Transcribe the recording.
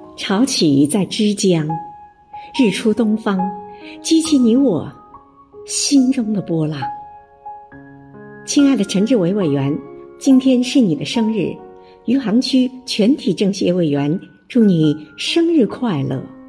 潮起在枝江，日出东方，激起你我心中的波浪。亲爱的陈志伟委员，今天是你的生日，余杭区全体政协委员祝你生日快乐。